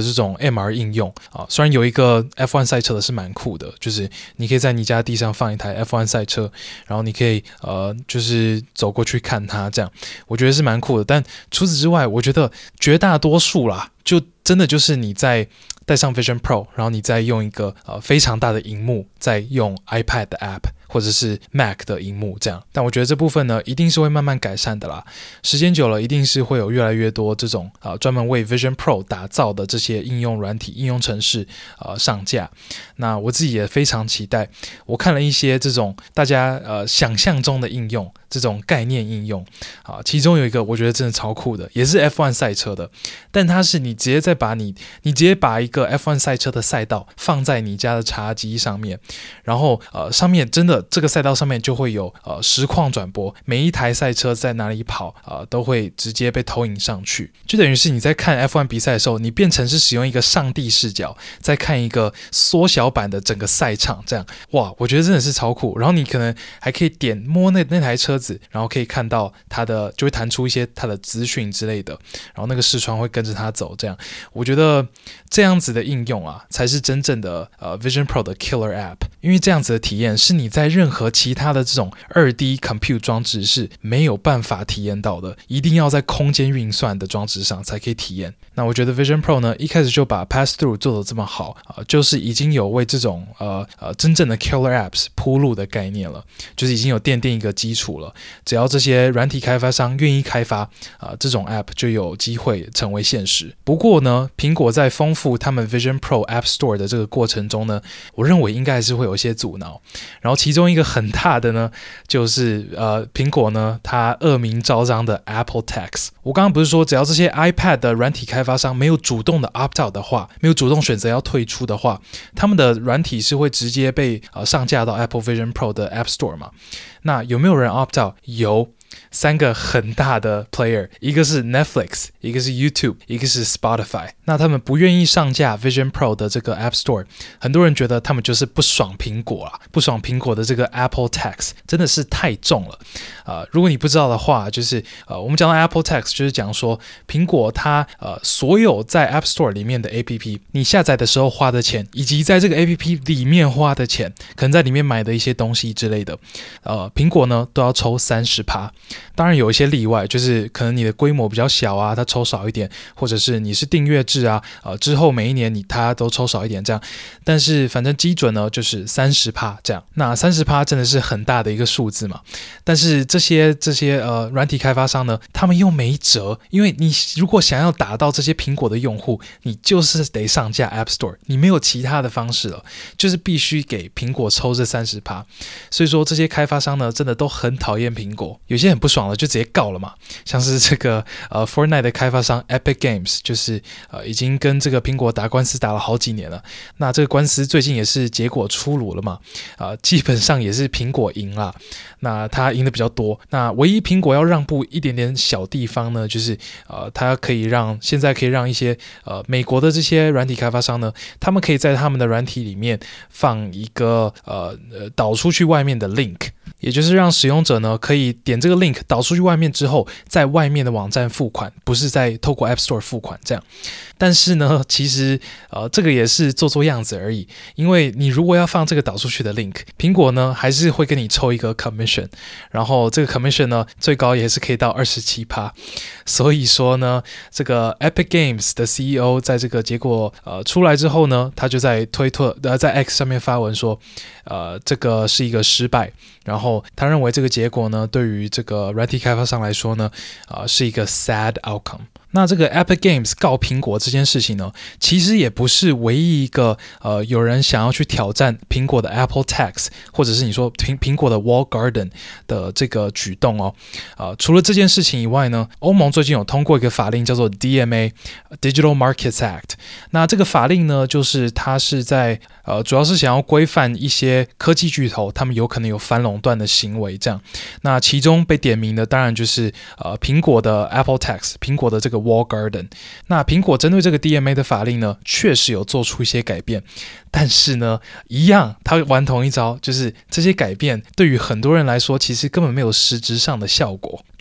Speaker 1: M R 應用啊。雖然有一個 F 一 賽車的是蠻酷的，就是你可以在你家地上放一台 F 一 賽車，然後你可以呃就是走過去看它，這樣我覺得是蠻酷的。但除此之外，我覺得絕大多數啦，就真的就是你在帶上 Vision Pro， 然後你再用一個呃非常大的熒幕，再用 iPad 的 App 或者是 Mac 的熒幕這樣。但我覺得這部分呢，一定是會慢慢改善的啦。時間久了，一定是會有越來越多這種啊、呃、專門為 Vision Pro 打造的這些應用軟體、應用程式呃上架。那我自己也非常期待。我看了一些這種大家呃想象中的應用，這種概念應用啊、呃，其中有一個我覺得真的超酷的，也是 F 一 賽車的，但它是你直接再把你你直接把一個 F 一 賽車的賽道放在你家的茶几上面，然後呃上面真的這個賽道上面就會有呃實況轉播，每一台賽車在哪裡跑呃都會直接被投影上去，就等於是你在看 F 一 比賽的時候，你變成是使用一個上帝視角在看一個縮小版的整個賽場，這樣哇，我覺得真的是超酷。然後你可能還可以點摸那那台車子，然後可以看到它的就會彈出一些它的資訊之類的，然後那個視窗會跟着它走，這樣我覺得這樣子的應用啊，才是真正的呃 Vision Pro 的 Killer App， 因為這樣子的體驗是你在任何其他的這種 二 D compute 裝置是沒有辦法體驗到的，一定要在空間運算的裝置上才可以體驗。那我覺得 Vision Pro 呢，一開始就把 Pass Through 做得這麼好啊、呃，就是已經有為這種呃呃真正的 Killer Apps 鋪路的概念了，就是已經有奠定一個基礎了。只要這些軟體開發商願意開發啊、呃，這種 App 就有機會成為現實。不過呢，蘋果在豐富他們 Vision Pro App Store 的這個過程中呢，我認為應該還是會有一些阻撓。然後其中一個很大的呢，就是呃蘋果呢它惡名昭彰的 Apple Tax。我剛剛不是說只要這些 iPad 的軟體開發商沒有主動的 opt out 的話，沒有主動選擇要退出的話，他們的軟體是會直接被呃上架到 Apple Vision Pro 的 App Store 嘛？那有沒有人 opt out？ 有。三個很大的 player， 一個是 Netflix， 一個是 YouTube， 一個是 Spotify。那他們不願意上架 Vision Pro 的這個 App Store， 很多人覺得他們就是不爽蘋果啊，不爽蘋果的這個 Apple Tax 真的是太重了。呃，如果你不知道的話，就是呃，我們講到 Apple Tax， 就是講說蘋果它呃所有在 App Store 裡面的 A P P， 你下載的時候花的錢，以及在這個 A P P 裡面花的錢，可能在裡面買的一些東西之類的，呃，蘋果呢都要抽 百分之三十。當然有一些例外，就是可能你的規模比較小啊，它抽少一點，或者是你是訂閱制啊，呃，之後每一年你它都抽少一點這樣。但是反正基準呢就是 百分之三十 這樣。那 百分之三十 真的是很大的一個數字嘛。但是這些這些呃軟體開發商呢，他們又沒轍，因為你如果想要打到這些蘋果的用戶，你就是得上架 App Store， 你沒有其他的方式了，就是必須給蘋果抽這 百分之三十。所以說這些開發商呢，真的都很討厭蘋果，有些很不爽了就直接告了嘛。像是這個呃 Fortnite 的開發商 Epic Games， 就是呃已經跟這個蘋果打官司打了好幾年了。那這個官司最近也是結果出爐了嘛，呃基本上也是蘋果贏了。那他贏的比較多。那唯一蘋果要讓步一點點小地方呢，就是呃他可以讓現在可以讓一些呃美國的這些軟體開發商呢，他們可以在他們的軟體裡面放一個呃呃導出去外面的 link。也就是讓使用者呢可以點這個 link 導出去外面之後，在外面的網站付款，不是在透過 App Store 付款這樣。但是呢，其實呃這個也是做做樣子而已，因為你如果要放這個導出去的 link， 蘋果呢還是會跟你抽一個 commission， 然後這個 commission 呢最高也是可以到 百分之二十七。所以說呢，這個 Epic Games 的 C E O 在這個結果呃出來之後呢，他就在推特呃在 X 上面發文說，呃這個是一個失敗。然後他認為這個結果呢，對於這個軟體開發商來說呢，呃，是一個 sad outcome。那這個 Epic Games 告蘋果這件事情呢，其實也不是唯一一個呃有人想要去挑戰蘋果的 Apple Tax， 或者是你說蘋蘋果的 Walled Garden 的這個舉動哦。呃，除了這件事情以外呢，歐盟最近有通過一個法令叫做 D M A Digital Markets Act。那這個法令呢，就是它是在呃主要是想要規範一些科技巨頭，他們有可能有反壟斷的行為這樣。那其中被點名的當然就是呃蘋果的 Apple Tax， 蘋果的這個Walled Garden。那蘋果針對這個 D M A 的法令呢，確實有做出一些改變，但是呢，一樣他玩同一招，就是這些改變對於很多人來說，其實根本沒有實質上的效果。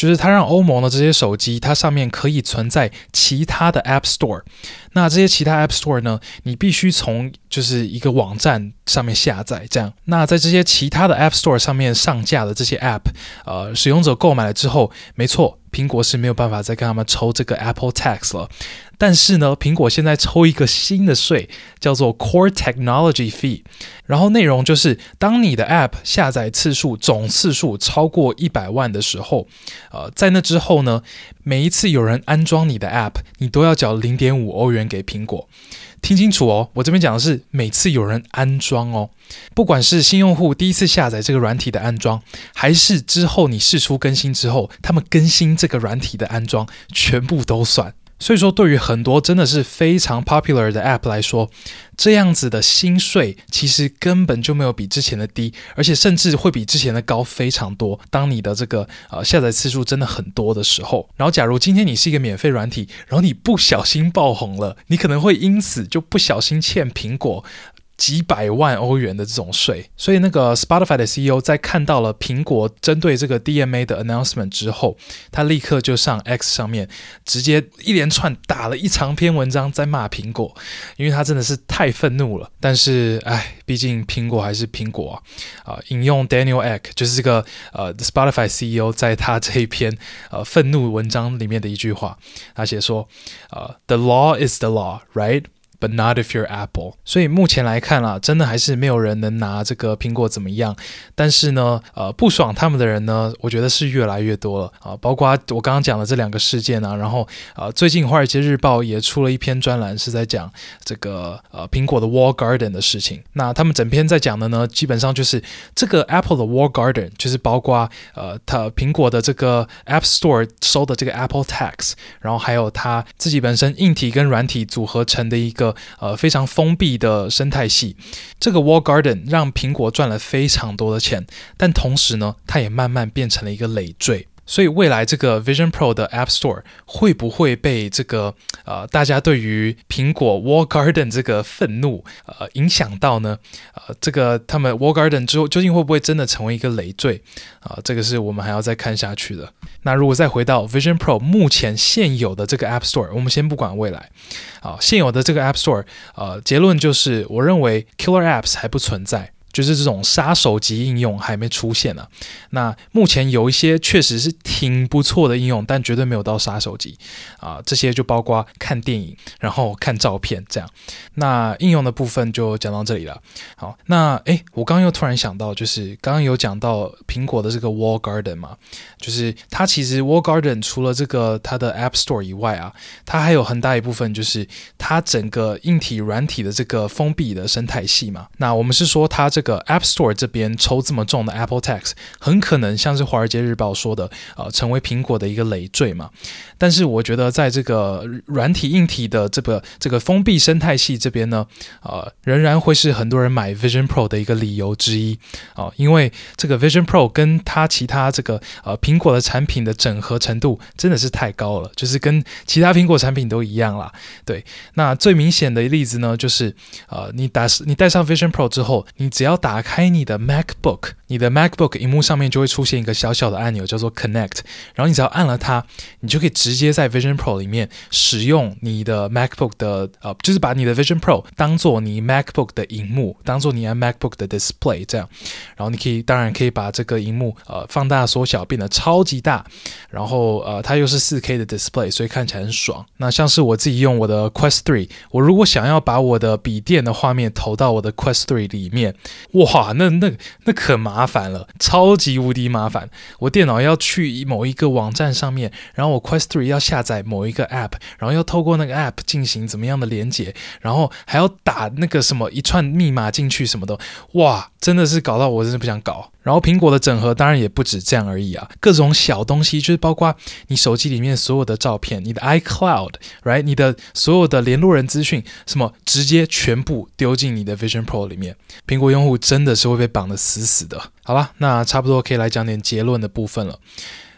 Speaker 1: 就是它讓歐盟的這些手機，它上面可以存在其他的 App Store。那這些其他 App Store 呢，你必須從就是一個網站上面下載，這樣。那在這些其他的 App Store 上面上架的這些 App， 呃，使用者購買了之後，沒錯，蘋果是沒有辦法再跟他們抽這個 Apple Tax 了。但是呢，蘋果現在抽一個新的稅，叫做 Core Technology Fee。然後內容就是，當你的 App 下載次數總次數超過一百萬的時候，呃，在那之後呢，每一次有人安裝你的 App， 你都要繳 零點五歐元給蘋果。聽清楚哦，我這邊講的是每次有人安裝哦，不管是新用戶第一次下載這個軟體的安裝，還是之後你釋出更新之後，他們更新這個軟體的安裝，全部都算。所以說，對於很多真的是非常 popular 的 App 來說，這樣子的新稅其實根本就沒有比之前的低，而且甚至會比之前的高非常多。當你的這個呃下載次數真的很多的時候，然後假如今天你是一個免費軟體，然後你不小心爆紅了，你可能會因此就不小心欠蘋果幾百萬歐元的這種稅。所以那個 Spotify 的 C E O 在看到了蘋果針對這個 D M A 的 announcement 之後，他立刻就上 X 上面直接一連串打了一長篇文章在罵蘋果，因為他真的是太憤怒了。但是哎，畢竟蘋果還是蘋果啊！呃、引用 Daniel Ek 就是這個呃 Spotify C E O 在他這一篇呃憤怒文章裡面的一句話，他寫說呃 The law is the law, right? But not if you're Apple。 所以目前來看啦，真的還是沒有人能拿這個蘋果怎麼樣。但是呢，呃，不爽他們的人呢，我覺得是越來越多了啊。包括我剛剛講的這兩個事件啊，然後呃，最近《華爾街日報》也出了一篇專欄，是在講這個呃蘋果的 Wall Garden 的事情。那他們整篇在講的呢，基本上就是這個 Apple 的 Wall Garden，就是包括呃，它蘋果的這個 App Store 收的這個 Apple Tax， 然後還有它自己本身硬體跟軟體組合成的一個呃，非常封閉的生態系。這個 Wall Garden 讓蘋果賺了非常多的錢，但同時呢，它也慢慢變成了一個累贅。所以未來這個 Vision Pro 的 App Store 會不會被這個呃大家對於蘋果 Wall Garden 這個憤怒呃影響到呢？呃，這個他們 Wall Garden 之後究竟會不會真的成為一個累贅啊、呃？這個是我們還要再看下去的。那如果再回到 Vision Pro 目前現有的這個 App Store， 我們先不管未來啊、呃，現有的這個 App Store， 呃，結論就是我認為 Killer Apps 還不存在。就是這種殺手級應用還沒出現啊。那目前有一些確實是挺不錯的應用，但絕對沒有到殺手級啊、呃。這些就包括看電影，然後看照片這樣。那應用的部分就講到這裡了。好，那誒，我剛剛又突然想到，就是剛剛有講到蘋果的這個 Wall Garden 嘛，就是它其實 Wall Garden 除了這個它的 App Store 以外啊，它還有很大一部分就是它整個硬體軟體的這個封閉的生態系嘛。那我們是說它這個這個 App Store 這邊抽這麼重的 Apple Tax， 很可能像是《華爾街日報》說的，呃，成為蘋果的一個累贅嘛。但是我覺得在這個軟體硬體的這個這個封閉生態系這邊呢，呃，仍然會是很多人買 Vision Pro 的一個理由之一啊、呃，因為這個 Vision Pro 跟它其他這個呃蘋果的產品的整合程度真的是太高了，就是跟其他蘋果產品都一樣啦。對，那最明顯的例子呢，就是呃，你打你帶上 Vision Pro 之後，你只要打開你的 MacBook， 你的 MacBook 螢幕上面就會出現一個小小的按鈕，叫做 Connect， 然後你只要按了它，你就可以直接在 Vision Pro 裡面使用你的 MacBook 的呃，就是把你的 Vision Pro 當做你 MacBook 的螢幕，當做你的 MacBook 的 Display 這樣，然後你可以當然可以把這個螢幕呃放大縮小變得超級大，然後呃它又是 四 K 的 Display， 所以看起來很爽。那像是我自己用我的 Quest 三，我如果想要把我的筆電的畫面投到我的 Quest 三裡面，哇，那那那可麻煩了，超級無敵麻煩。我電腦要去某一個網站上面，然後我 Quest 三要下載某一個 App， 然後要透過那個 App 進行怎麼樣的連接，然後還要打那個什麼一串密碼進去什麼的，哇，真的是搞到我真的不想搞。然後蘋果的整合當然也不止這樣而已啊，各種小東西就是包括你手機裡面所有的照片，你的 iCloud，right， 你的所有的聯絡人資訊，什麼直接全部丟進你的 Vision Pro 裡面，蘋果用戶真的是會被綁得死死的。好吧，那差不多可以來講點結論的部分了。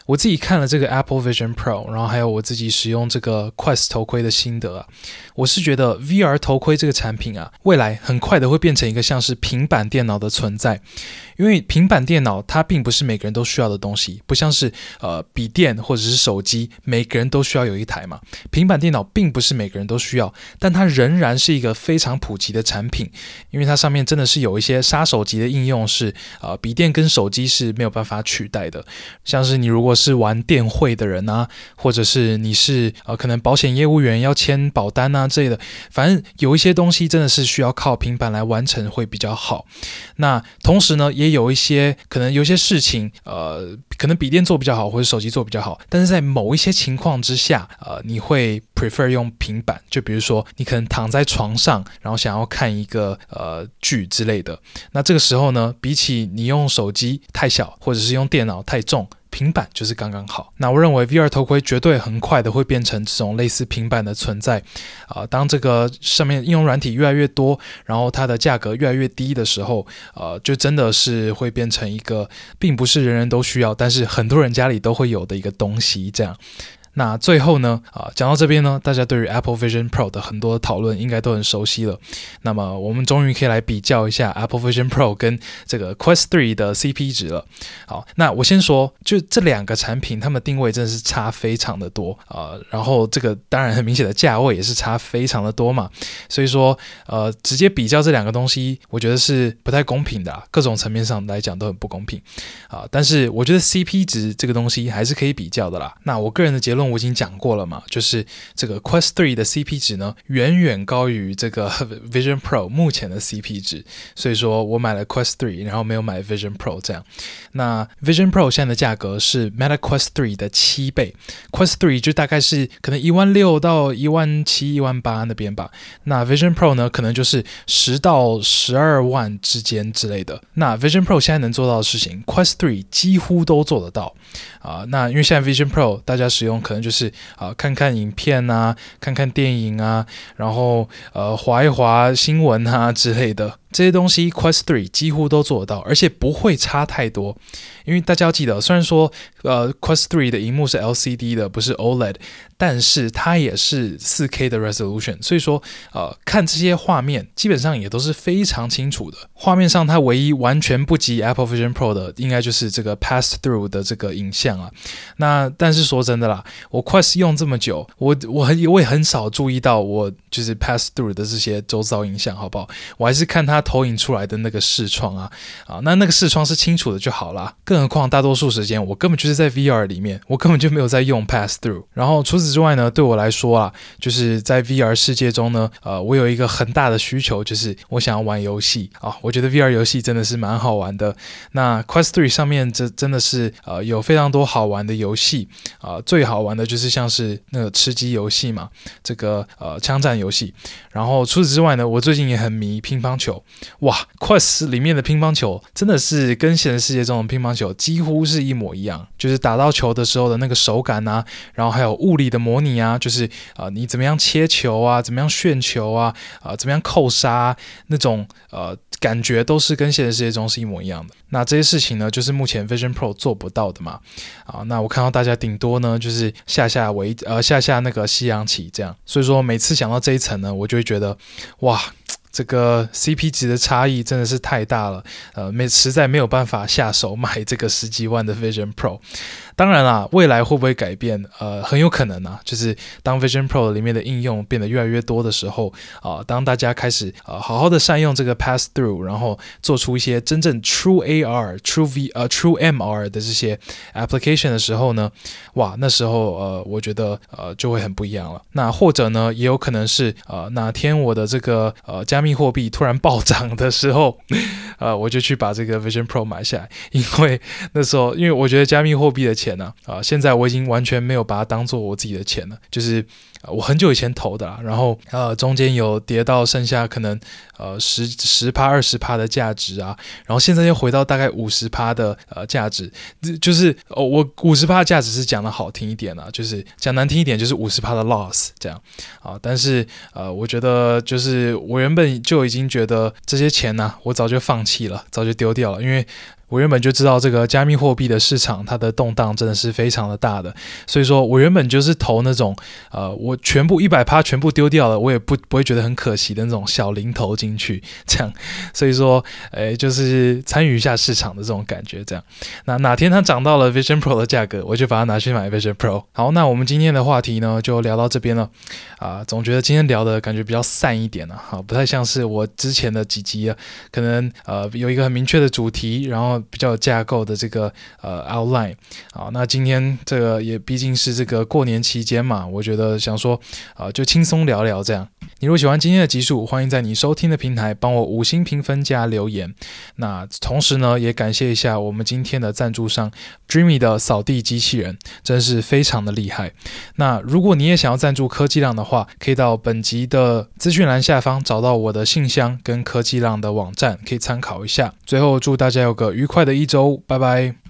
Speaker 1: 我自己看了這個 Apple Vision Pro， 然後還有我自己使用這個 Quest 頭盔的心得啊，我是覺得 V R 頭盔這個產品啊，未來很快的會變成一個像是平板電腦的存在。因為平板電腦它並不是每個人都需要的東西，不像是呃筆電或者是手機，每個人都需要有一台嘛。平板電腦並不是每個人都需要，但它仍然是一個非常普及的產品，因為它上面真的是有一些殺手級的應用是呃筆電跟手機是沒有辦法取代的。像是你如果是玩電匯的人啊，或者是你是呃可能保險業務員要簽保單啊之類的，反正有一些東西真的是需要靠平板來完成會比較好。那同時呢，也也有一些可能有些事情，呃，可能筆電做比較好，或者手機做比較好，但是在某一些情況之下，呃，你會 prefer 用平板，就比如說你可能躺在床上，然後想要看一個呃劇之類的，那這個時候呢，比起你用手機太小，或者是用電腦太重，平板就是剛剛好。那我認為 V R 頭盔絕對很快的會變成這種類似平板的存在啊、呃。當這個上面應用軟體越來越多，然後它的價格越來越低的時候，呃，就真的是會變成一個並不是人人都需要，但是很多人家裡都會有的一個東西這樣。那最後呢，啊，講到這邊呢，大家對於 Apple Vision Pro 的很多的討論應該都很熟悉了。那麼我們終於可以來比較一下 Apple Vision Pro 跟這個 Quest 三的 C P 值了。好，那我先說，就這兩個產品，它們的定位真的是差非常的多啊、呃。然後這個當然很明顯的價位也是差非常的多嘛。所以說，呃，直接比較這兩個東西，我覺得是不太公平的、啊，各種層面上來講都很不公平啊、呃。但是我覺得 C P 值這個東西還是可以比較的啦。那我個人的結論，我已經講過了嘛，就是這個 Quest 三的 C P 值呢，遠遠高於這個 Vision Pro 目前的 C P 值，所以說我買了 Quest 三，然後沒有買 Vision Pro 這樣。那 Vision Pro 現在的價格是 Meta Quest 三的七倍 ，Quest 三就大概是可能一萬六到一萬七、一萬八那邊吧。那 Vision Pro 呢，可能就是十到十二萬之間之類的。那 Vision Pro 現在能做到的事情 ，Quest 三幾乎都做得到啊、呃。那因為現在 Vision Pro 大家使用可能就是啊、呃，看看影片啊，看看電影啊，然後呃，滑一滑新聞啊之類的。這些東西 Quest 三幾乎都做得到，而且不會差太多。因為大家要記得，雖然說呃 Quest 三的螢幕是 L C D 的，不是 O L E D， 但是它也是 四 K 的 resolution， 所以說呃看這些畫面基本上也都是非常清楚的。畫面上它唯一完全不及 Apple Vision Pro 的，應該就是這個 pass through 的這個影像啊。那但是說真的啦，我 Quest 用這麼久，我我很我也很少注意到我就是 pass through 的這些周遭影像，好不好？我還是看它投影出來的那個視窗啊，啊，那那個視窗是清楚的就好啦。更何況大多數時間我根本就是在 V R 裡面，我根本就沒有在用 pass through。然後除此之外呢，對我來說啊，就是在 V R 世界中呢，呃，我有一個很大的需求，就是我想要玩遊戲啊。我覺得 V R 遊戲真的是蠻好玩的。那 Quest 三上面這真的是呃有非常多好玩的遊戲啊、呃，最好玩的就是像是那個吃雞遊戲嘛，這個呃槍戰遊戲。然後除此之外呢，我最近也很迷乒乓球。哇 ，Quest 裡面的乒乓球真的是跟現實世界中的乒乓球幾乎是一模一樣，就是打到球的時候的那個手感啊，然後還有物理的模擬啊，就是啊、呃、你怎麼樣切球啊，怎麼樣旋球啊，啊、呃、怎麼樣扣殺、啊、那種呃感覺都是跟現實世界中是一模一樣的。那這些事情呢，就是目前 Vision Pro 做不到的嘛。啊，那我看到大家頂多呢就是下下圍呃下下那個西洋棋這樣，所以說每次想到這一層呢，我就會覺得哇。這個 C P 值的差異真的是太大了，呃，沒實在沒有辦法下手買這個十幾萬的 Vision Pro。當然啦，未來會不會改變？呃，很有可能啊，就是當 Vision Pro 裡面的應用變得越來越多的時候，啊、呃，當大家開始呃好好的善用這個 Pass Through，然後做出一些真正 True A R、True V 呃 True M R 的這些 application 的時候呢，哇，那時候呃，我覺得呃就會很不一樣了。那或者呢，也有可能是呃哪天我的這個呃加密貨幣突然暴漲的時候，呃，我就去把這個 Vision Pro 買下來，因為那時候因為我覺得加密貨幣的錢錢呢啊，現在我已經完全沒有把它當做我自己的錢了，就是我很久以前投的啦，然後呃中間有跌到剩下可能呃十十趴二十趴的價值啊，然後現在又回到大概五十趴的呃價值，就是哦我五十趴的價值是講的好聽一點啊，就是講難聽一點就是五十趴的 loss 這樣啊，但是呃我覺得就是我原本就已經覺得這些錢呢、啊，我早就放棄了，早就丟掉了，因為我原本就知道這個加密貨幣的市場，它的動盪真的是非常的大的，所以說我原本就是投那種，呃，我全部 百分之百 全部丟掉了，我也不不會覺得很可惜的那種小零投進去，這樣，所以說，誒，就是參與一下市場的這種感覺，這樣。那哪天它漲到了 Vision Pro 的價格，我就把它拿去買 Vision Pro。好，那我們今天的話題呢，就聊到這邊了，啊、呃，總覺得今天聊的感覺比較散一點啊，好，不太像是我之前的幾集啊，可能呃有一個很明確的主題，然後比較有架構的這個呃 outline， 好，那今天這個也畢竟是這個過年期間嘛，我覺得想說呃就輕鬆聊聊這樣。你如果喜歡今天的集數，歡迎在你收聽的平台幫我五星評分加留言。那同時呢，也感謝一下我們今天的贊助商 Dreamy 的掃地機器人，真是非常的厲害。那如果你也想要贊助科技浪的話，可以到本集的資訊欄下方找到我的信箱跟科技浪的網站，可以參考一下。最後祝大家有個愉快的一周，拜拜。